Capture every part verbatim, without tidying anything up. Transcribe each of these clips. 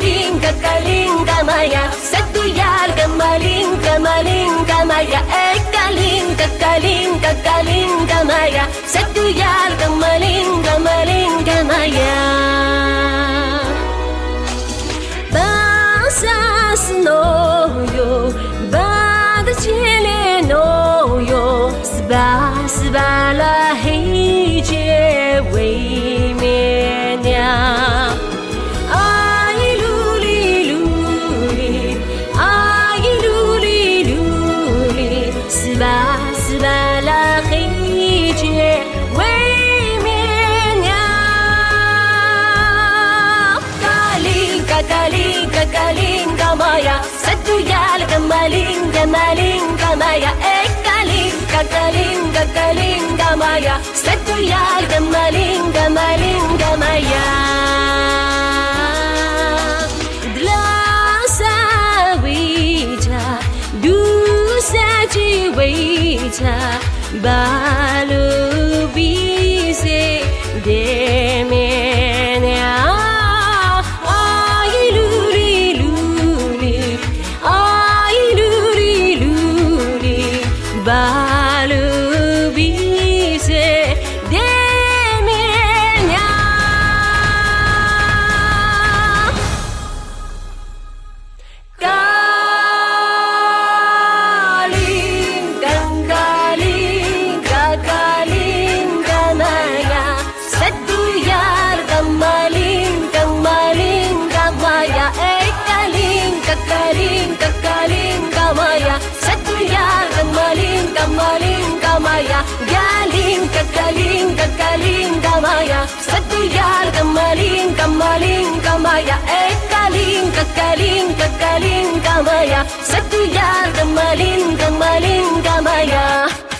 kakaling kakaling kamaya Satuyal kamaling kamaling kamaya Eh kaling kakaling kakaling kamaya Satuyal kamaling kamaling kamaya Basas noyo Bad chile noyo Sba sba la hei je wei mian ya Ai luli luli Ai luli luli Sba sba la hei je wei mian ya Kaling kakaling kakaling kamaya Satuyal kamaling kamaling kamaya Eh kaling kakaling kakaling kamaya Satuyal kamaling kamaling kamaya Dlasa wija Dusa ji wija Balu bise demenya Balu bise demenya Kaling kakaling kakaling kamaya Satuyal kamaling kamaling kamaya Eh kaling kakaling kakaling kamaya Satuyal kamaling kamaling kamaya Galing kakaling kakaling kamaya Satuyal kamaling kamaling kamaya Eh kaling kakaling kakaling kamaya Satuyal kamaling kamaling kamaya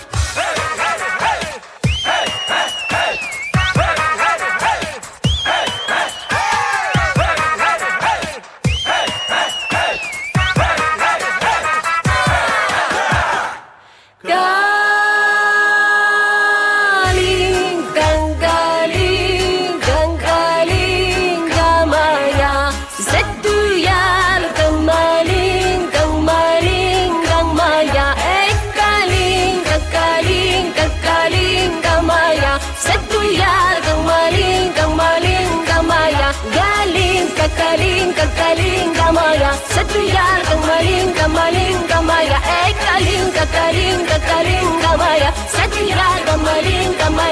Kaling kakaling kakaling kamaya Satuyal kamaling kamaling kamaya Eh kaling kakaling kakaling kamaya Satuyal kamaling kamaling kamaya Galing kakaling kakaling kamaya Satuyal kamaling kamaling kamaya Eh kaling kakaling kakaling kamaya Satuyal kamaling kamaling